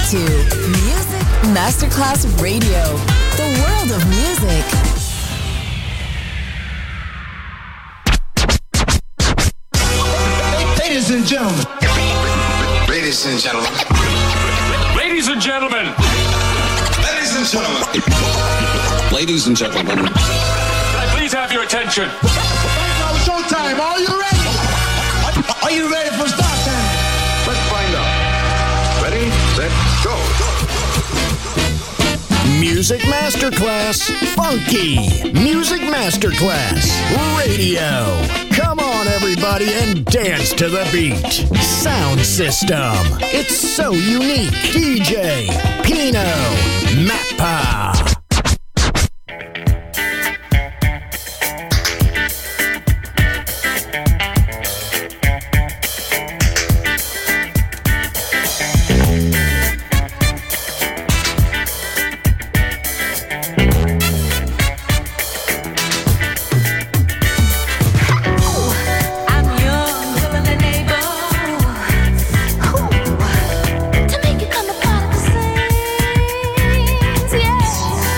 to Music Masterclass Radio, the world of music. Ladies and gentlemen. Ladies and gentlemen. Ladies and gentlemen. Ladies and gentlemen. Ladies and gentlemen. Can I please have your attention? Now showtime. Are you ready? Are you ready for start time? Let's find out. Ready, set, go. Music Masterclass Funky. Music Masterclass Radio. Come on, everybody, and dance to the beat. Sound system. It's so unique. DJ Pino Mappa. To make it come a part of the scenes, yeah.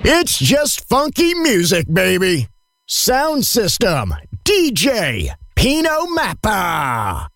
It's just funky music, baby. Sound system, DJ Pino Mappa.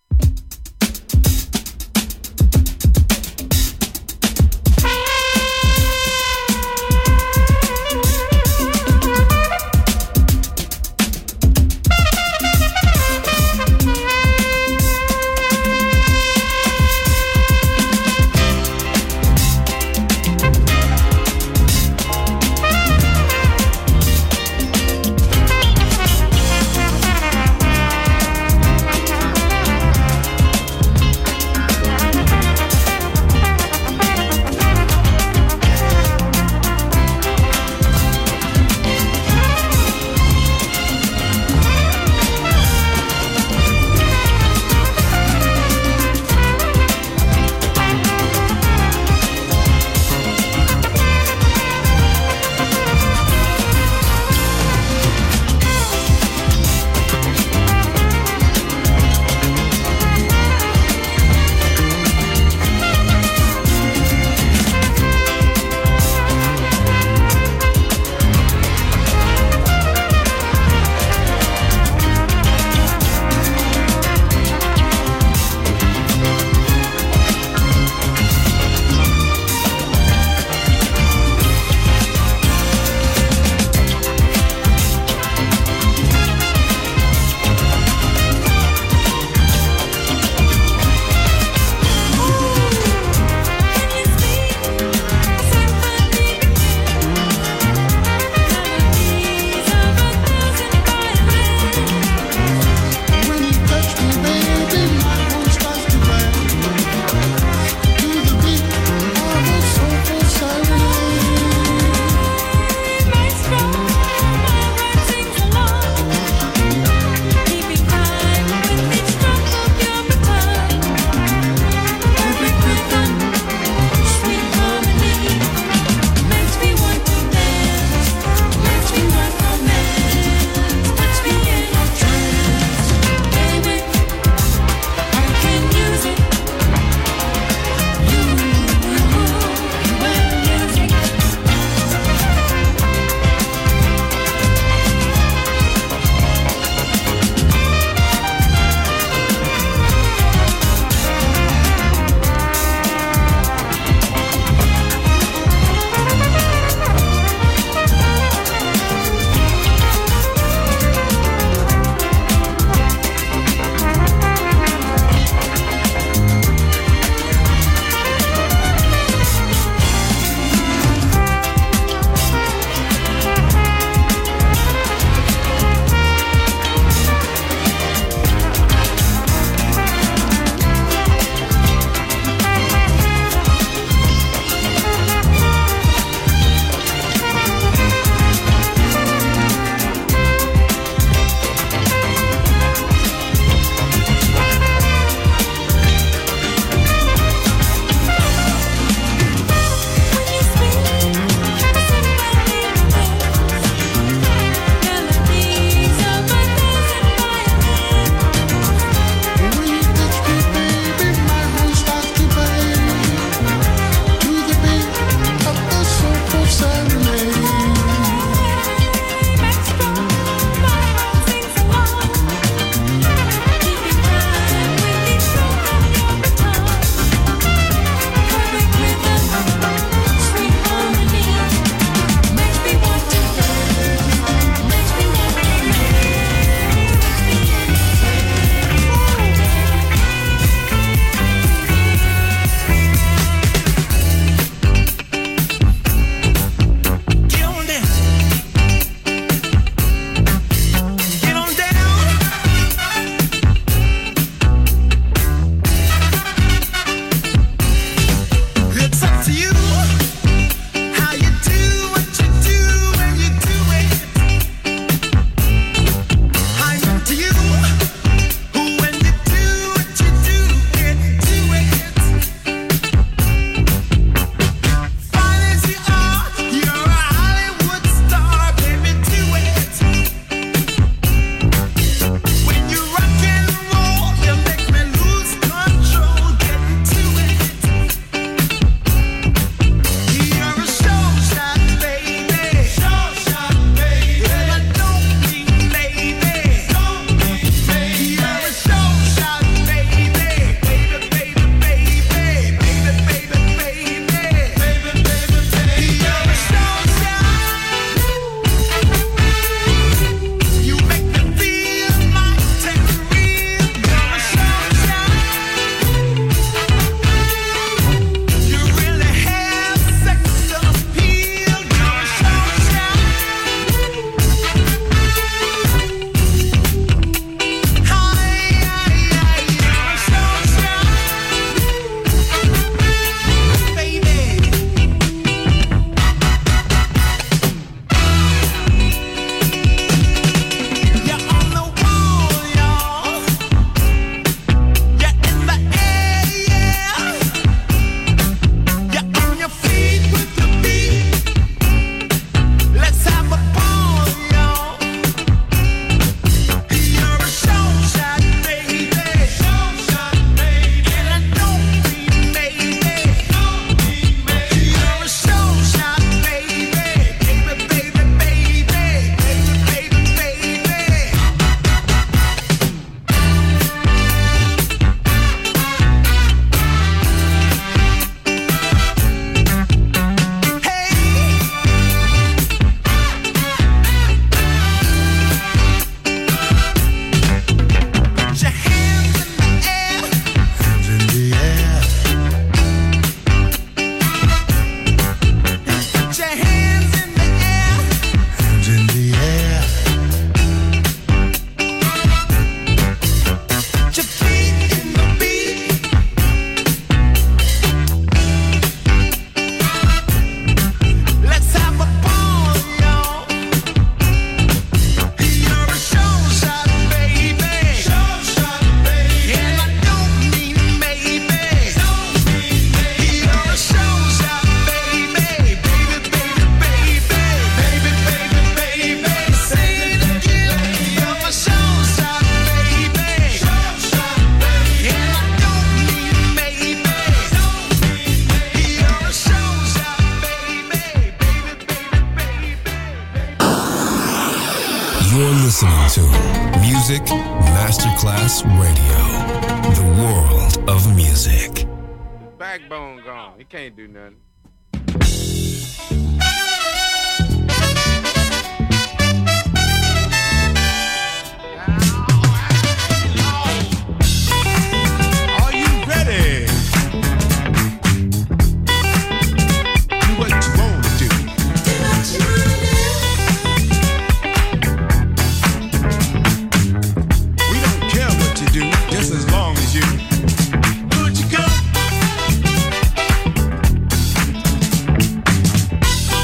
You're listening to Music Masterclass Radio, the world of music. His backbone gone. He can't do nothing. Are you ready? Do what you want to do. We don't care what you do, just as long as you do what you got.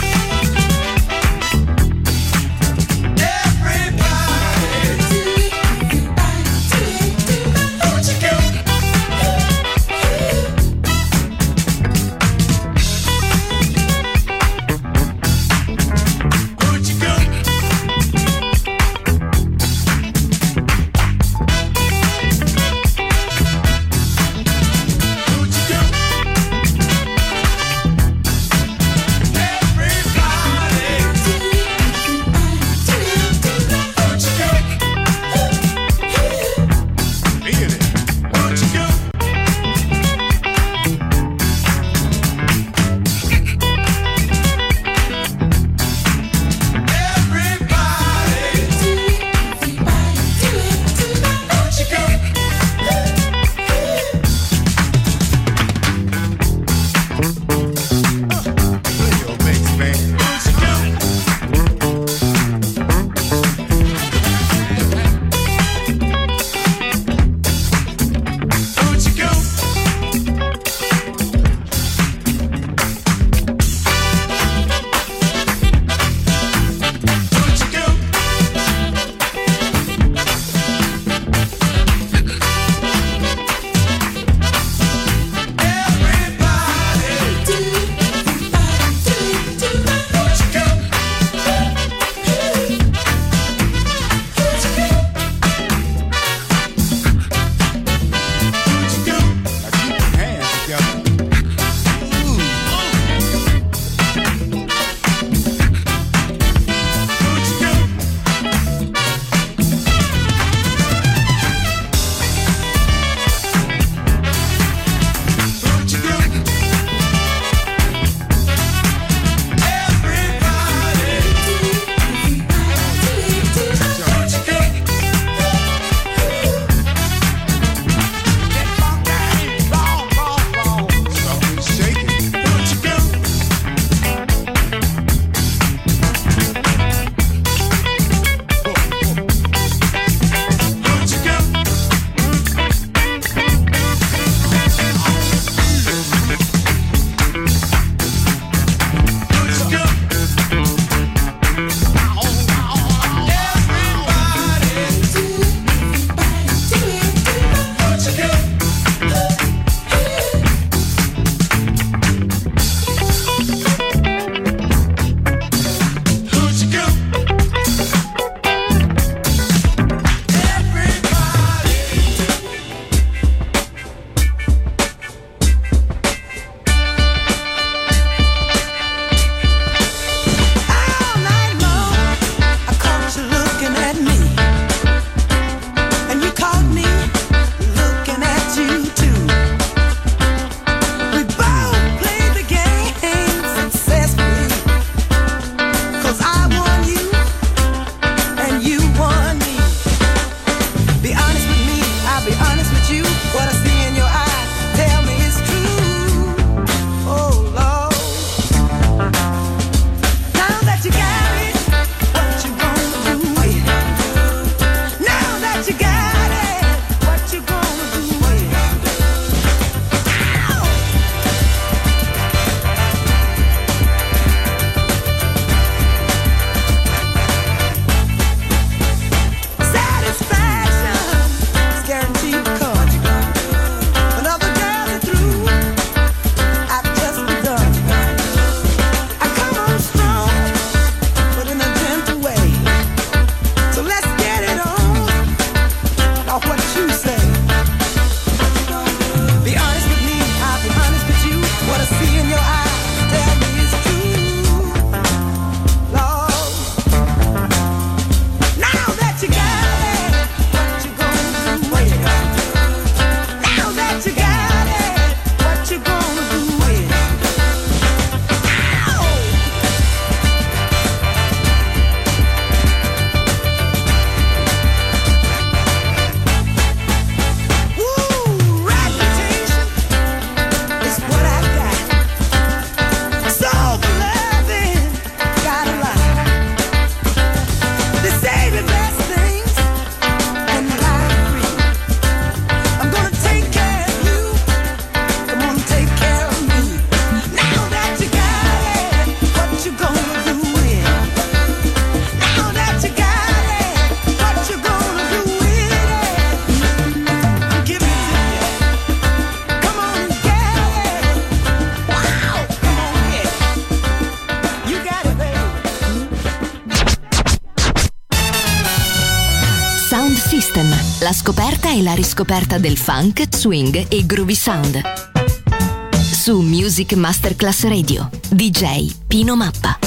La scoperta e la riscoperta del funk, swing e groovy sound. Su Music Masterclass Radio, DJ Pino Mappa.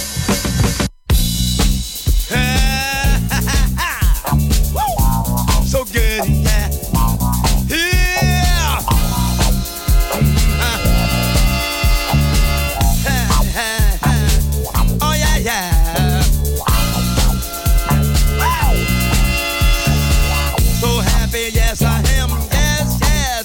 So good, yeah. Yeah. Oh yeah, yeah. So happy, yes I am. Yes, yes.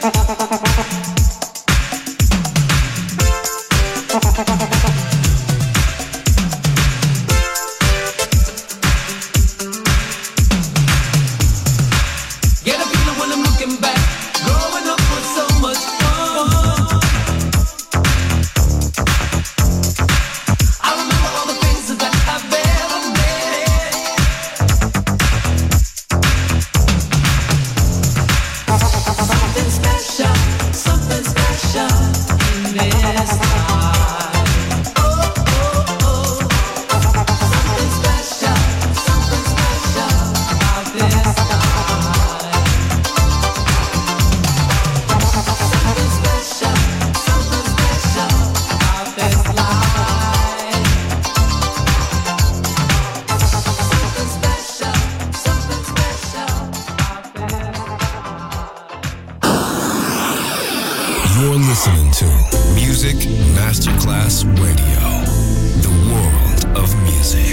listening to Music Masterclass Radio, the world of music.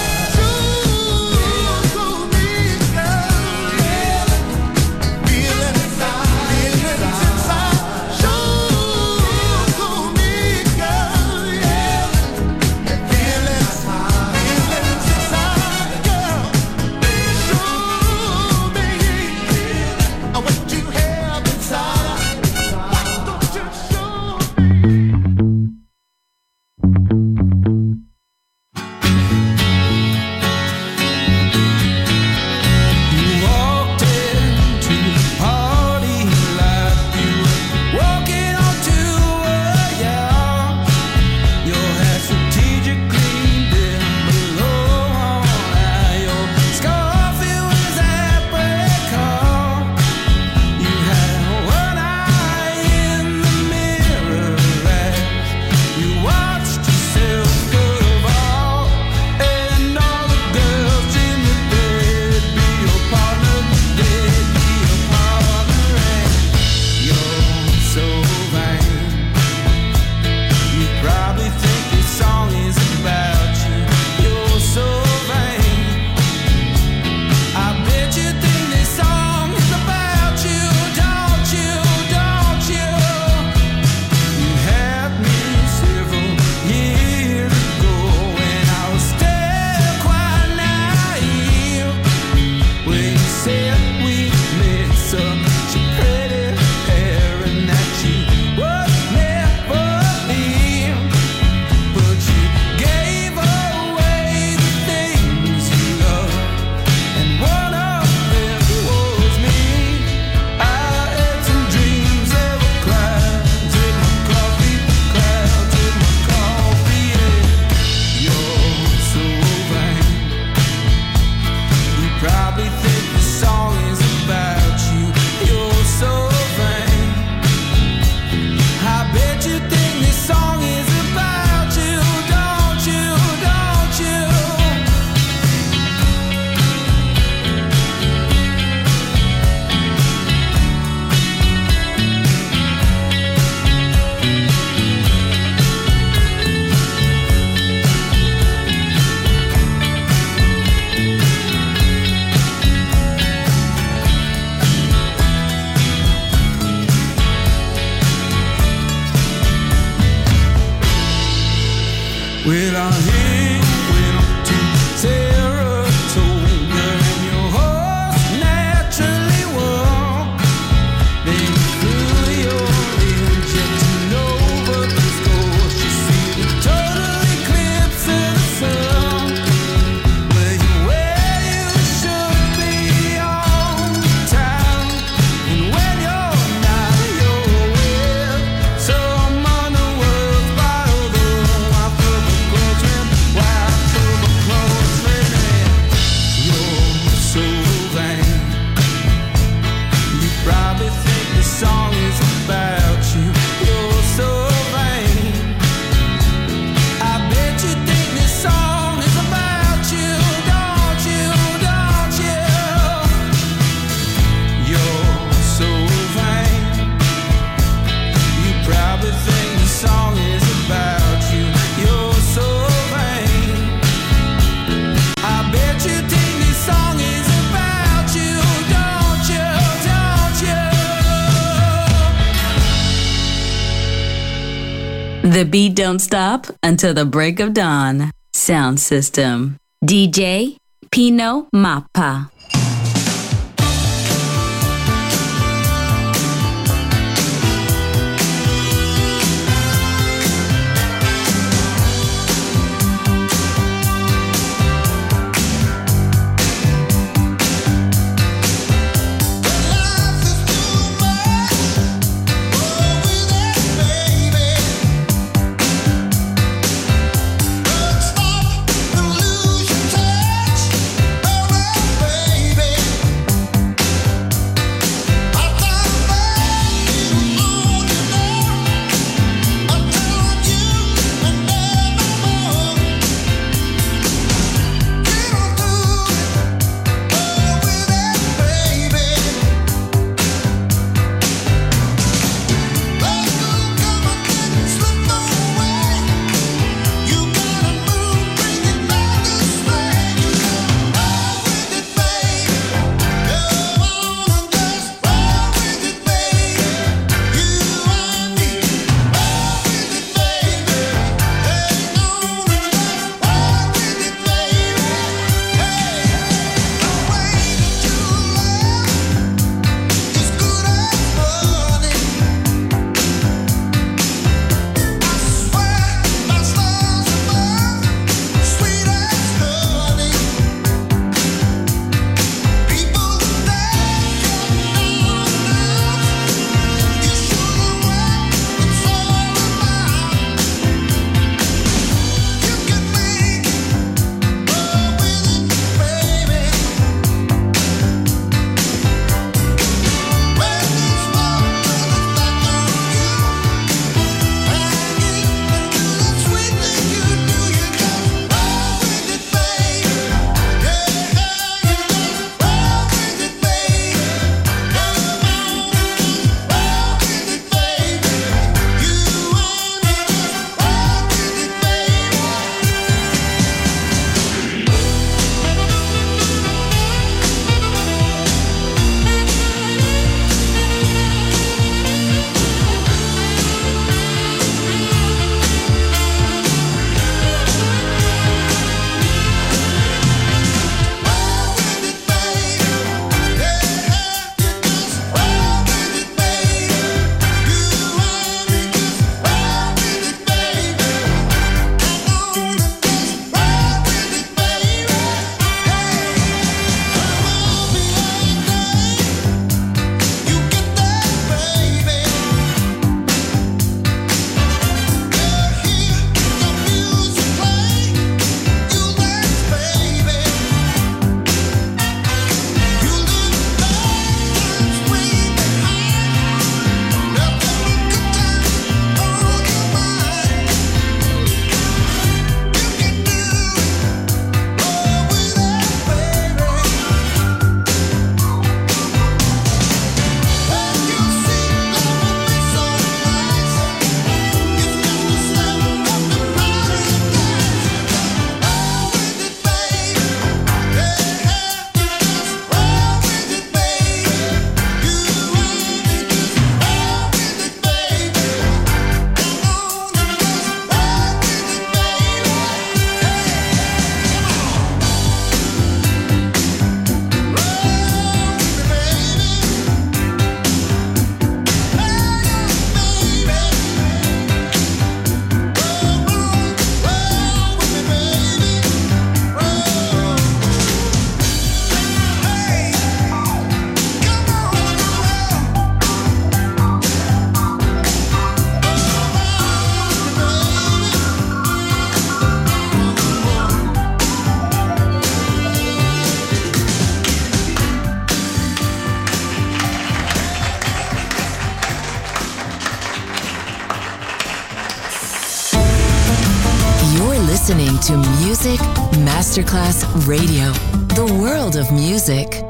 Feeling The beat don't stop until the break of dawn. Sound system. DJ Pino Mappa. listening to Music Masterclass Radio, the world of music.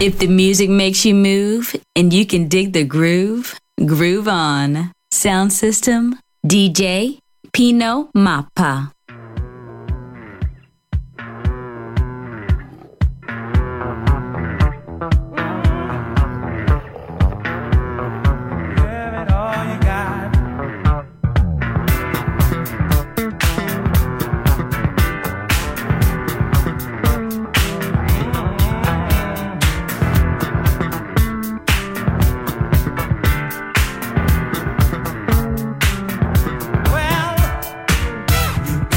If the music makes you move and you can dig the groove, groove on. Sound system, DJ Pino Mappa. You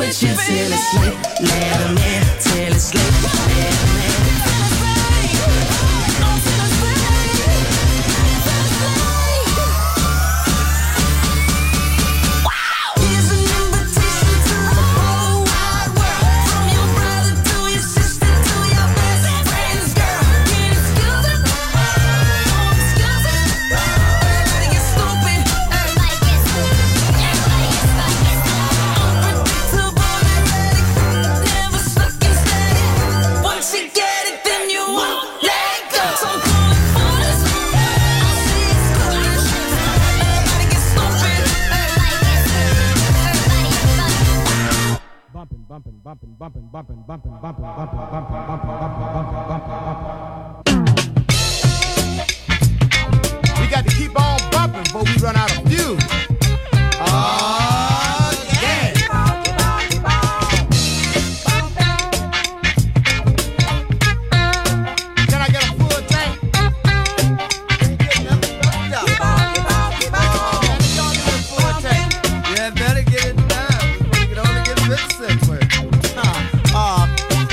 with you till it's late. Let him in till it's late. Let him in. We got to keep on bumping before we run out of fuel. Oh, yeah. Can I get a full tank? Yeah, better get it done. You can only get 50 cents worth. Wow.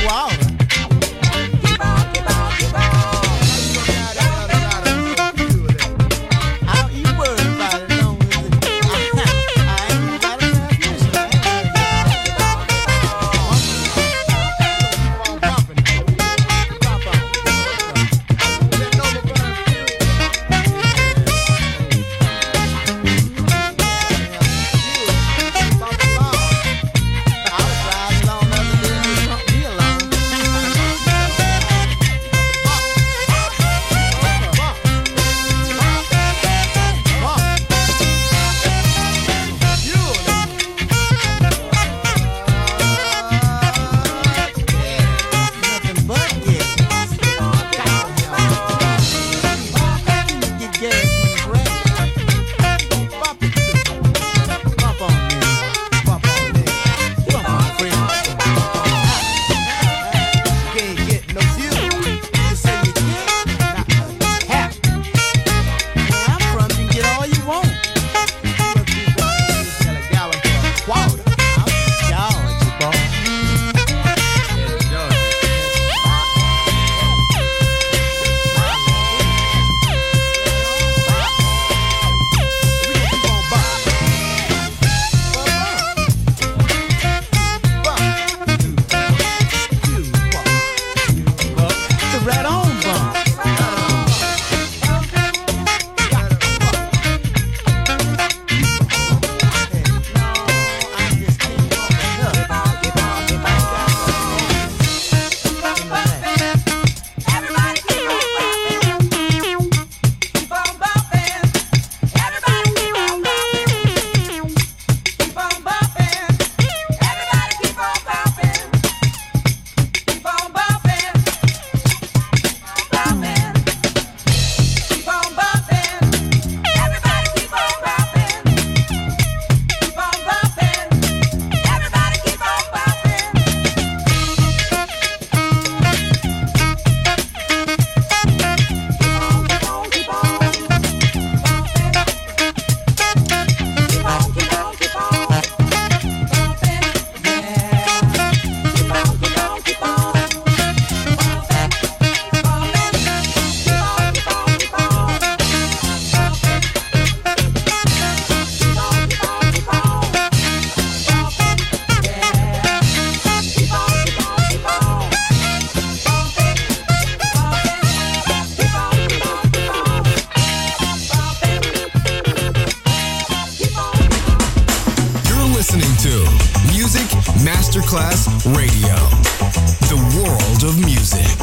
Masterclass Radio, the world of music.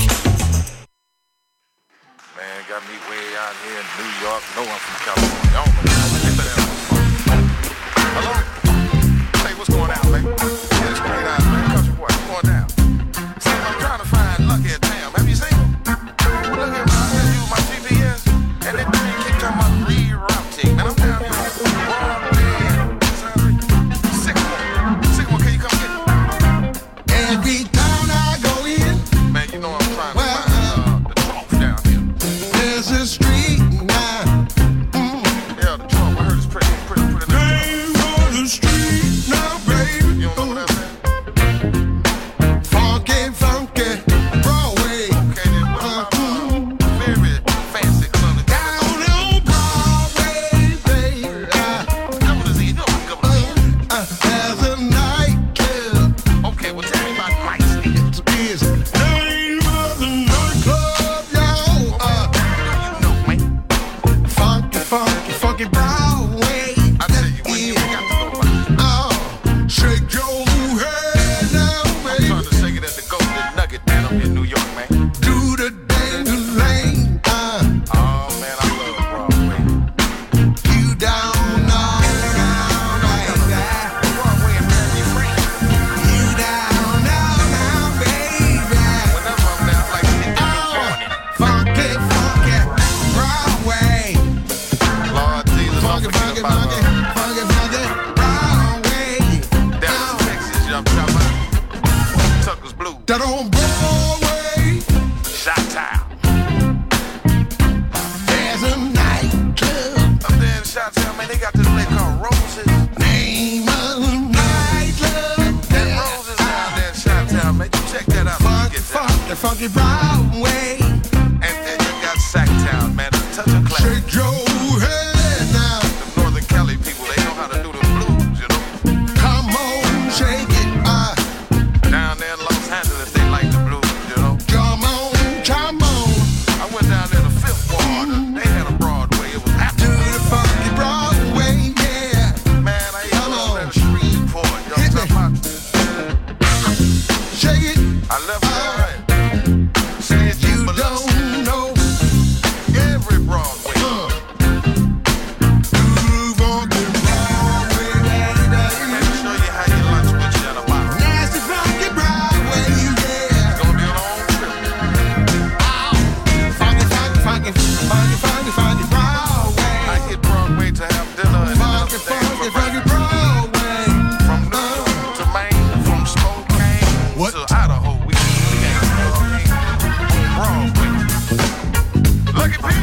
Man, got me way out here in New York. No one from California. I don't know. Hello? Hey, what's going on, baby? Yeah, it's great out, man. Country boy, come on down. See, I'm trying to find Lucky at Tam. Have you seen him? Look here, man. I had to use my GPS, and that thing keep talking about rerouting. Man, I'm down here. Sycamore, can you come get me? Every town I go in, man, you know I'm trying to find the trough down here. There's a street now. Yeah, the trough. I heard it's pretty nice. Name on the street now, baby. You don't know what I'm saying? out my Tucker's Blues. That on Broadway. Chi-Town. There's a nightclub. Up there in Chi-Town, man, they got this place called Roses. Name of the nightclub. That Roses down there in Chi-Town, man. You check that out when you get down. The funky Broadway. And then you got Sacktown, man. A touch of class. Shake your head now. The Northern Cali people, they know how to do the blues, you know. Come on, shake it. Down there in Los Angeles, they like the blues, you know. Come on, come on. I went down there to Fifth Ward. They had a Broadway. It was after Do the funky Broadway, yeah. man. I ain't go down to Shreveport. Y'all talking about? Shake it. I left there, right? Say it, You but don't know. every Broadway. Groove on the Broadway, Let me show you how you lunch with you in a bottle. nasty funky Broadway, yeah. It's gonna be a long trip. Funky, funky, funky, funky, funky, funky Broadway. I hit Broadway to have dinner and then Funky, upstairs funky, for funky breakfast. Broadway. From New York to Maine, from Spokane What? to Idaho, we came Broadway. Look at me.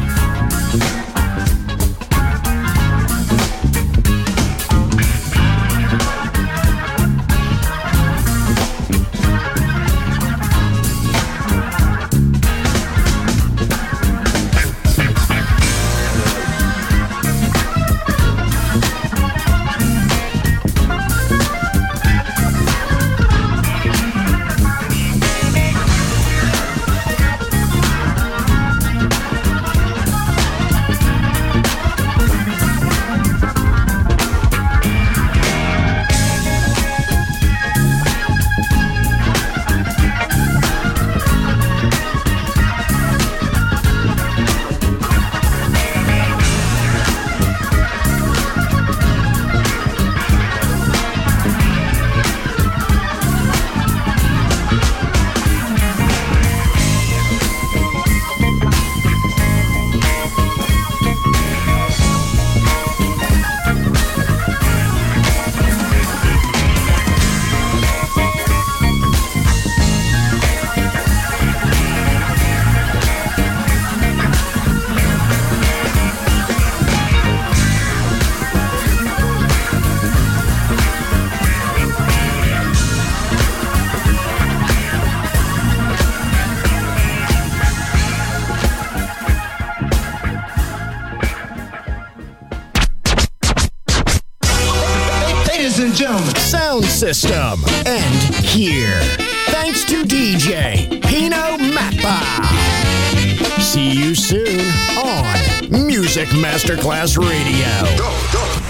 Ladies and gentlemen. Sound system. And here. Thanks to DJ Pino Mappa. See you soon on Music Masterclass Radio.